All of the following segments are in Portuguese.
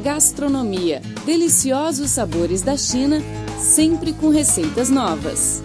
Gastronomia. Deliciosos sabores da China, sempre com receitas novas.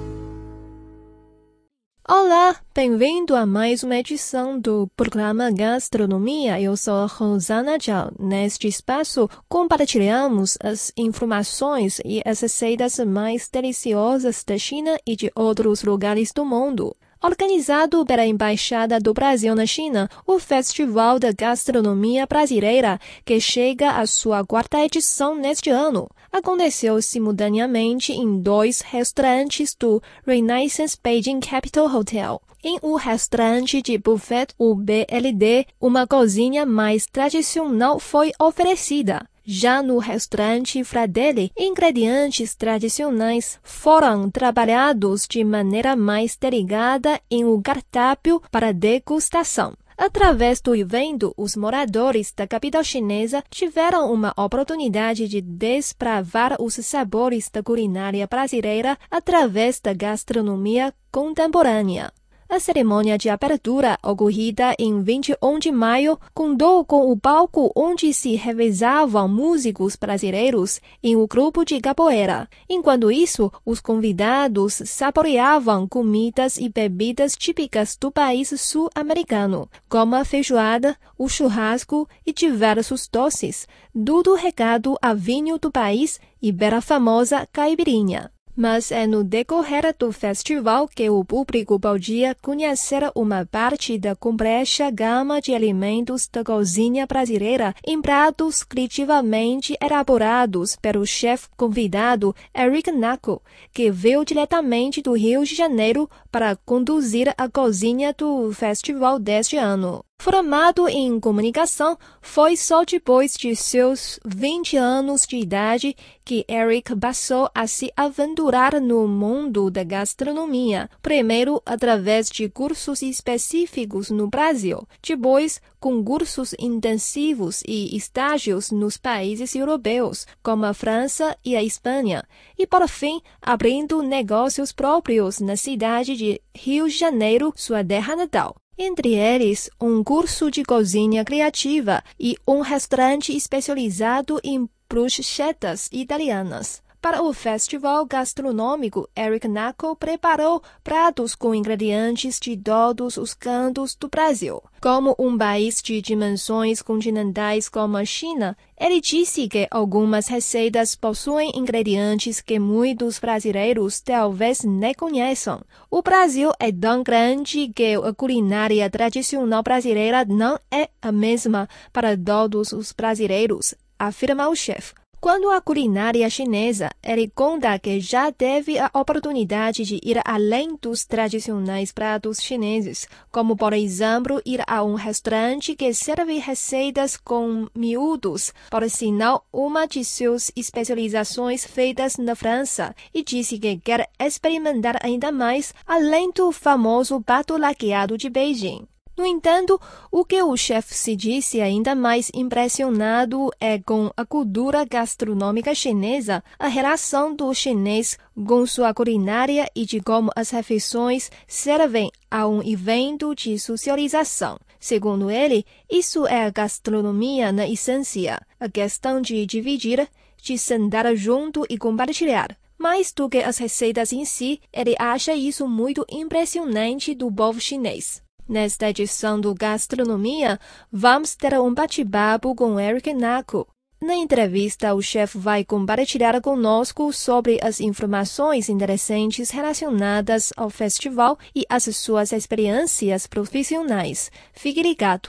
Olá, bem-vindo a mais uma edição do programa Gastronomia. Eu sou Rosana Zhao. Neste espaço, compartilhamos as informações e as receitas mais deliciosas da China e de outros lugares do mundo. Organizado pela Embaixada do Brasil na China, o Festival da Gastronomia Brasileira, que chega à sua 4ª edição neste ano, aconteceu simultaneamente em 2 restaurantes do Renaissance Beijing Capital Hotel. Em um restaurante de buffet, o BLD, uma cozinha mais tradicional foi oferecida. Já no restaurante Fratelli, ingredientes tradicionais foram trabalhados de maneira mais delicada em um cardápio para degustação. Através do evento, os moradores da capital chinesa tiveram uma oportunidade de desbravar os sabores da culinária brasileira através da gastronomia contemporânea. A cerimônia de abertura, ocorrida em 21 de maio, contou com o palco onde se revezavam músicos brasileiros em um grupo de capoeira. Enquanto isso, os convidados saboreavam comidas e bebidas típicas do país sul-americano, como a feijoada, o churrasco e diversos doces, tudo regado a vinho do país e pela famosa caipirinha. Mas é no decorrer do festival que o público podia conhecer uma parte da complexa gama de alimentos da cozinha brasileira em pratos criativamente elaborados pelo chefe convidado Eric Naco, que veio diretamente do Rio de Janeiro para conduzir a cozinha do festival deste ano. Formado em comunicação, foi só depois de seus 20 anos de idade que Eric passou a se aventurar no mundo da gastronomia, primeiro através de cursos específicos no Brasil, depois com cursos intensivos e estágios nos países europeus, como a França e a Espanha, e por fim abrindo negócios próprios na cidade de Rio de Janeiro, sua terra natal. Entre eles, um curso de cozinha criativa e um restaurante especializado em bruschettas italianas. Para o festival gastronômico, Eric Naco preparou pratos com ingredientes de todos os cantos do Brasil. Como um país de dimensões continentais como a China, ele disse que algumas receitas possuem ingredientes que muitos brasileiros talvez nem conheçam. O Brasil é tão grande que a culinária tradicional brasileira não é a mesma para todos os brasileiros, afirma o chefe. Quando a culinária chinesa, ele conta que já teve a oportunidade de ir além dos tradicionais pratos chineses, como, por exemplo, ir a um restaurante que serve receitas com miúdos, por sinal, uma de suas especializações feitas na França, e disse que quer experimentar ainda mais, além do famoso pato laqueado de Beijing. No entanto, o que o chefe se disse ainda mais impressionado é com a cultura gastronômica chinesa, a relação do chinês com sua culinária e de como as refeições servem a um evento de socialização. Segundo ele, isso é a gastronomia na essência, a questão de dividir, de sentar junto e compartilhar. Mais do que as receitas em si, ele acha isso muito impressionante do povo chinês. Nesta edição do Gastronomia, vamos ter um bate-papo com Eric Naco. Na entrevista, o chefe vai compartilhar conosco sobre as informações interessantes relacionadas ao festival e as suas experiências profissionais. Fique ligado!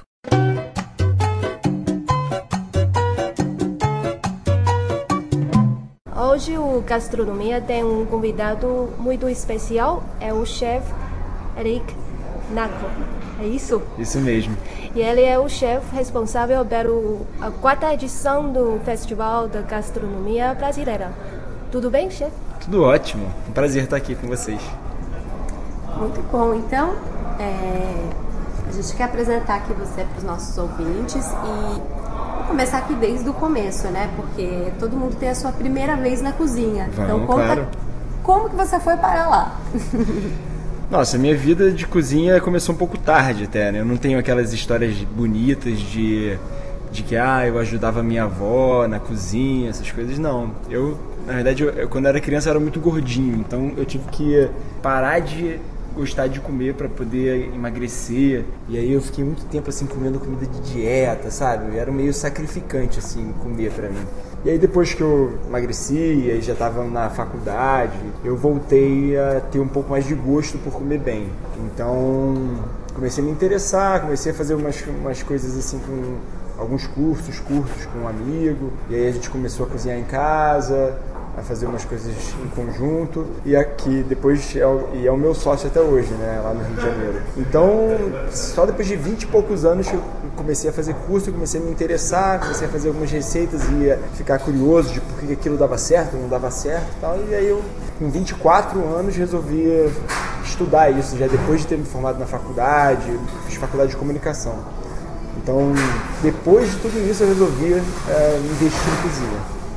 Hoje o Gastronomia tem um convidado muito especial, é o chefe Eric Naco, é isso? Isso mesmo. E ele é o chefe responsável pela 4ª edição do Festival da Gastronomia Brasileira. Tudo bem, chefe? Tudo ótimo. Um prazer estar aqui com vocês. Muito bom. Então, a gente quer apresentar aqui você para os nossos ouvintes e vou começar aqui desde o começo, né? Porque todo mundo tem a sua primeira vez na cozinha. Então, conta claro. Como que você foi parar lá? Nossa, minha vida de cozinha começou um pouco tarde até, né? Eu não tenho aquelas histórias bonitas de de que eu ajudava a minha avó na cozinha, essas coisas. Não, na verdade, quando eu era criança eu era muito gordinho, então eu tive que parar de gostar de comer para poder emagrecer. E aí eu fiquei muito tempo assim comendo comida de dieta, sabe? Era meio sacrificante assim comer para mim. E aí depois que eu emagreci, e aí já estava na faculdade, eu voltei a ter um pouco mais de gosto por comer bem. Então comecei a me interessar, comecei a fazer umas coisas assim com alguns cursos curtos com um amigo. E aí a gente começou a cozinhar em casa, a fazer umas coisas em conjunto, e aqui depois é o meu sócio até hoje, né, lá no Rio de Janeiro. Então, só depois de 20 e poucos anos que eu comecei a fazer curso, comecei a me interessar, comecei a fazer algumas receitas e a ficar curioso de por que aquilo dava certo, não dava certo e tal. E aí eu, com 24 anos, resolvi estudar isso, já depois de ter me formado na faculdade, fiz faculdade de comunicação. Então, depois de tudo isso, eu resolvi investir em cozinha.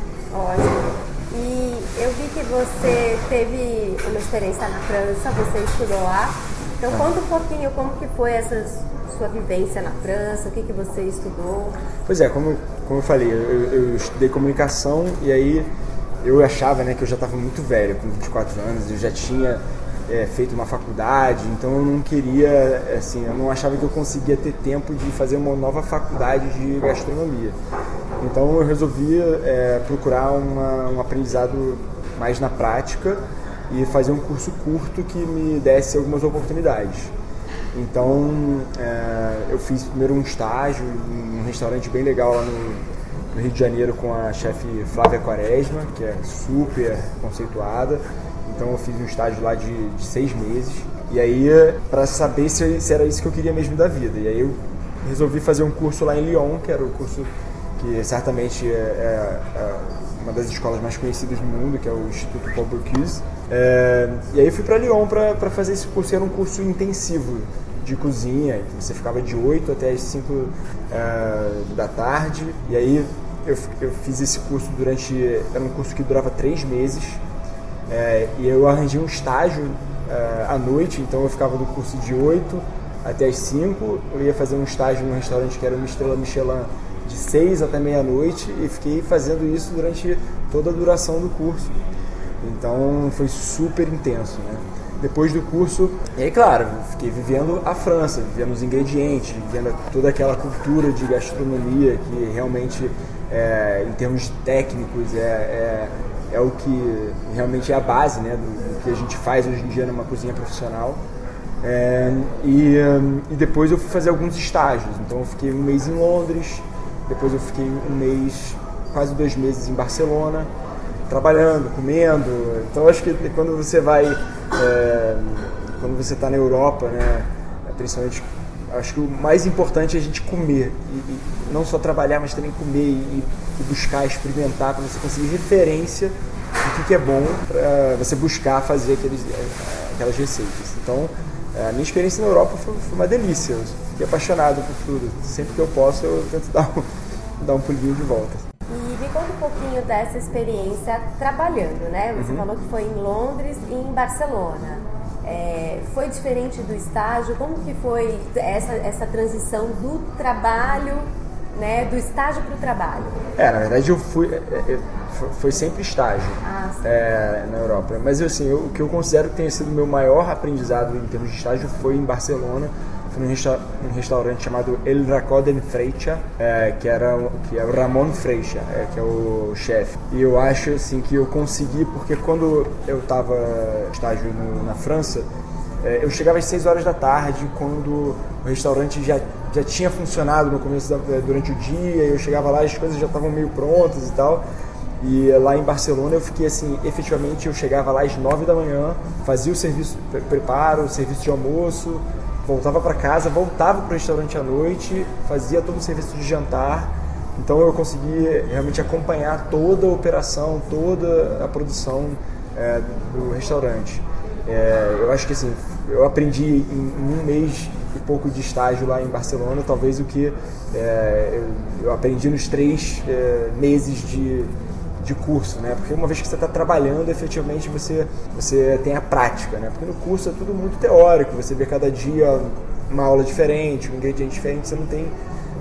Ótimo. E eu vi que você teve uma experiência na França, você estudou lá. Então conta um pouquinho como que foi essa sua vivência na França, o que você estudou. Pois é, como eu falei, eu estudei comunicação e aí eu achava, né, que eu já estava muito velho, com 24 anos, eu já tinha feito uma faculdade, então eu não queria, assim, eu não achava que eu conseguia ter tempo de fazer uma nova faculdade de gastronomia. Então eu resolvi procurar um aprendizado mais na prática e fazer um curso curto que me desse algumas oportunidades. Então eu fiz primeiro um estágio em um restaurante bem legal lá no Rio de Janeiro com a chefe Flávia Quaresma, que é super conceituada. Então eu fiz um estágio lá de 6 meses. E aí, para saber se era isso que eu queria mesmo da vida. E aí eu resolvi fazer um curso lá em Lyon, que era o curso que certamente é uma das escolas mais conhecidas do mundo, que é o Instituto Paul Bocuse. E aí eu fui para Lyon para fazer esse curso. Era um curso intensivo de cozinha, que você ficava de 8 até as 5 da tarde. E aí eu fiz esse curso era um curso que durava 3 meses. E eu arranjei um estágio à noite, então eu ficava do curso de 8 até as 5. Eu ia fazer um estágio num restaurante que era uma estrela Michelin de 6 até meia-noite e fiquei fazendo isso durante toda a duração do curso. Então foi super intenso, né? Depois do curso, e aí claro, fiquei vivendo a França, vivendo os ingredientes, vivendo toda aquela cultura de gastronomia que realmente, em termos técnicos, é o que realmente é a base, né, do que a gente faz hoje em dia numa cozinha profissional. E depois eu fui fazer alguns estágios. Então eu fiquei um mês em Londres, depois eu fiquei um mês, quase 2 meses em Barcelona, trabalhando, comendo. Então acho que quando você vai, quando você está na Europa, né, principalmente, acho que o mais importante é a gente comer, e não só trabalhar, mas também comer e buscar, experimentar, para você conseguir referência do que é bom, para você buscar fazer aquelas receitas. Então, a minha experiência na Europa foi uma delícia, eu fiquei apaixonado por tudo. Sempre que eu posso, eu tento dar um pulinho de volta. E me conta um pouquinho dessa experiência trabalhando, né? Você falou que foi em Londres e em Barcelona. Foi diferente do estágio? Como que foi essa transição do trabalho, né, do estágio para o trabalho? Na verdade foi sempre estágio na Europa. Mas assim, o que eu considero que tenha sido o meu maior aprendizado em termos de estágio foi em Barcelona. Foi num restaurante chamado El Racó de Freixa, que é o Ramon Freixa, que é o chefe. E eu acho assim que eu consegui, porque quando eu estava estágio na França, eu chegava às 6 horas da tarde, quando o restaurante já tinha funcionado no começo durante o dia, eu chegava lá, as coisas já estavam meio prontas e tal. E lá em Barcelona eu fiquei assim, efetivamente eu chegava lá às 9 da manhã, fazia o serviço, o serviço de almoço, voltava para casa, voltava para o restaurante à noite, fazia todo o serviço de jantar. Então eu consegui realmente acompanhar toda a operação, toda a produção do restaurante. Eu acho que assim, eu aprendi em 1 mês e pouco de estágio lá em Barcelona, talvez o que eu aprendi nos 3 meses de curso, né? Porque uma vez que você está trabalhando, efetivamente você tem a prática, né? Porque no curso é tudo muito teórico, você vê cada dia uma aula diferente, um ingrediente diferente, você não tem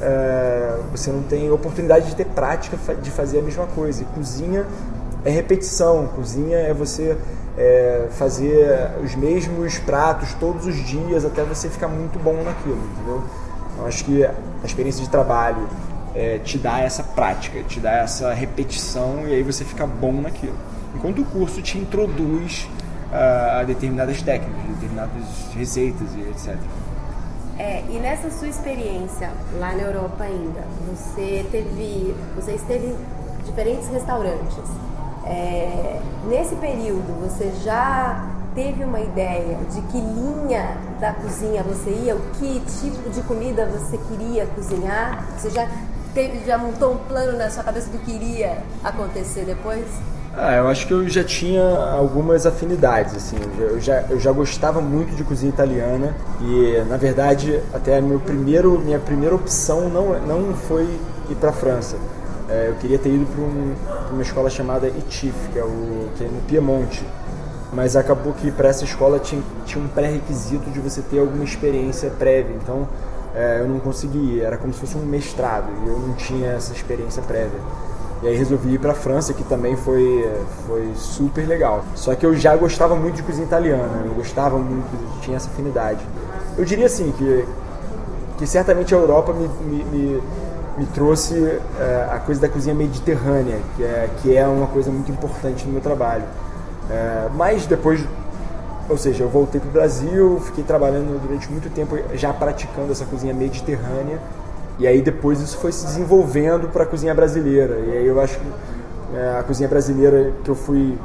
você não tem oportunidade de ter prática de fazer a mesma coisa. E cozinha é repetição, cozinha é você fazer os mesmos pratos todos os dias até você ficar muito bom naquilo, entendeu? Eu acho que a experiência de trabalho te dá essa prática, te dá essa repetição e aí você fica bom naquilo. Enquanto o curso te introduz a determinadas técnicas, determinadas receitas e etc. E nessa sua experiência lá na Europa ainda, você esteve em diferentes restaurantes. Nesse período, você já teve uma ideia de que linha da cozinha você ia, o que tipo de comida você queria cozinhar? Você já montou um plano na sua cabeça do que iria acontecer depois? Eu acho que eu já tinha algumas afinidades, assim. Eu já gostava muito de cozinha italiana e, na verdade, até minha primeira opção não foi ir para a França. Eu queria ter ido para uma escola chamada ITIF, que é no Piemonte. Mas acabou que para essa escola tinha um pré-requisito de você ter alguma experiência prévia. Então, eu não consegui ir. Era como se fosse um mestrado e eu não tinha essa experiência prévia. E aí resolvi ir para a França, que também foi super legal. Só que eu já gostava muito de cozinha italiana, eu gostava muito, tinha essa afinidade. Eu diria assim, que certamente a Europa me trouxe a coisa da cozinha mediterrânea, que é uma coisa muito importante no meu trabalho. Mas depois, ou seja, eu voltei para o Brasil, fiquei trabalhando durante muito tempo já praticando essa cozinha mediterrânea. E aí depois isso foi se desenvolvendo para a cozinha brasileira. E aí eu acho que a cozinha brasileira que eu fui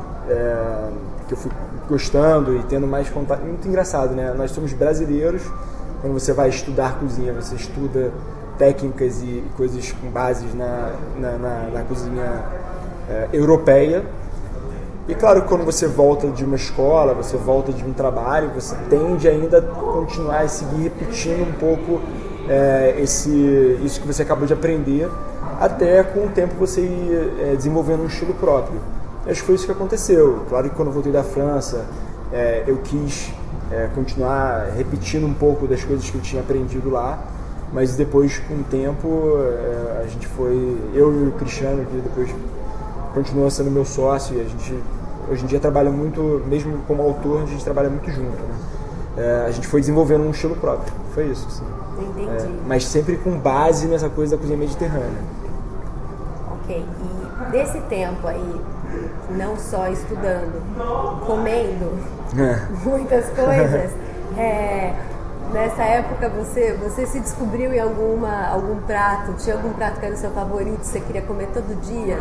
gostando e tendo mais contato... Muito engraçado, né? Nós somos brasileiros. Quando você vai estudar cozinha, você estuda técnicas e coisas com bases na cozinha europeia. E claro que quando você volta de uma escola, você volta de um trabalho, você tende ainda a continuar a seguir repetindo um pouco isso que você acabou de aprender, até com o tempo você ir desenvolvendo um estilo próprio. Acho que foi isso que aconteceu. Claro que quando eu voltei da França, eu quis continuar repetindo um pouco das coisas que eu tinha aprendido lá, mas depois, com o tempo, a gente eu e o Cristiano, que depois continuou sendo meu sócio, e a gente hoje em dia trabalha muito, mesmo como autor, a gente trabalha muito junto, né? A gente foi desenvolvendo um estilo próprio, foi isso, assim. Entendi. Mas sempre com base nessa coisa da cozinha mediterrânea. Ok, e desse tempo aí, não só estudando, comendo muitas coisas, nessa época você se descobriu em algum prato? Tinha algum prato que era o seu favorito, você queria comer todo dia?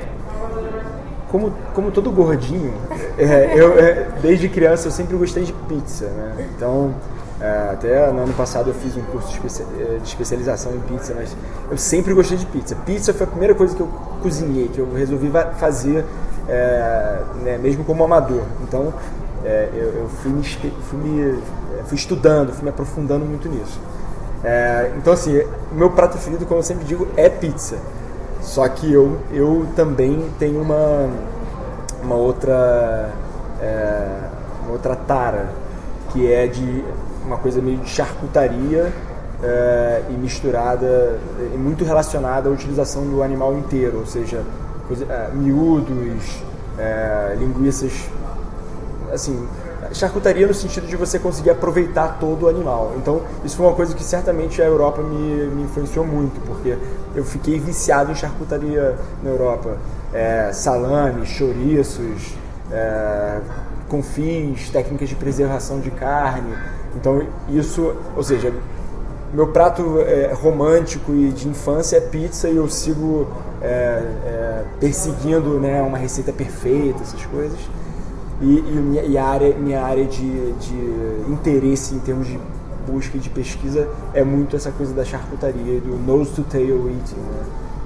Como todo gordinho, desde criança eu sempre gostei de pizza, né? Então, até no ano passado eu fiz um curso de especialização em pizza, mas eu sempre gostei de pizza. Pizza foi a primeira coisa que eu cozinhei, que eu resolvi fazer, né, mesmo como amador. Então, eu fui estudando, fui me aprofundando muito nisso. Então, assim, o meu prato preferido, como eu sempre digo, é pizza. Só que eu também tenho uma outra tara, que é de uma coisa meio de charcutaria e misturada, e muito relacionada à utilização do animal inteiro, ou seja, miúdos, linguiças, assim, charcutaria no sentido de você conseguir aproveitar todo o animal. Então, isso foi uma coisa que certamente a Europa me influenciou muito, porque eu fiquei viciado em charcutaria na Europa. Salame, chouriços, confins, técnicas de preservação de carne. Então, isso, ou seja, meu prato romântico e de infância é pizza, e eu sigo perseguindo, né, uma receita perfeita, essas coisas. E minha área de interesse em termos de busca e de pesquisa é muito essa coisa da charcutaria e do nose to tail eating, né?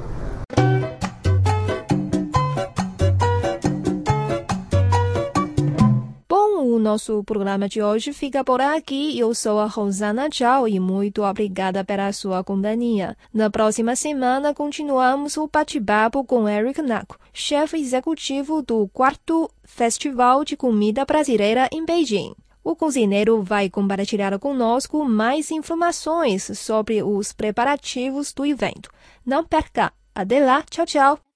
O nosso programa de hoje fica por aqui. Eu sou a Rosana Zhao e muito obrigada pela sua companhia. Na próxima semana, continuamos o bate-papo com Eric Naco, chefe executivo do 4º Festival de Comida Brasileira em Beijing. O cozinheiro vai compartilhar conosco mais informações sobre os preparativos do evento. Não perca! Até lá, tchau, tchau!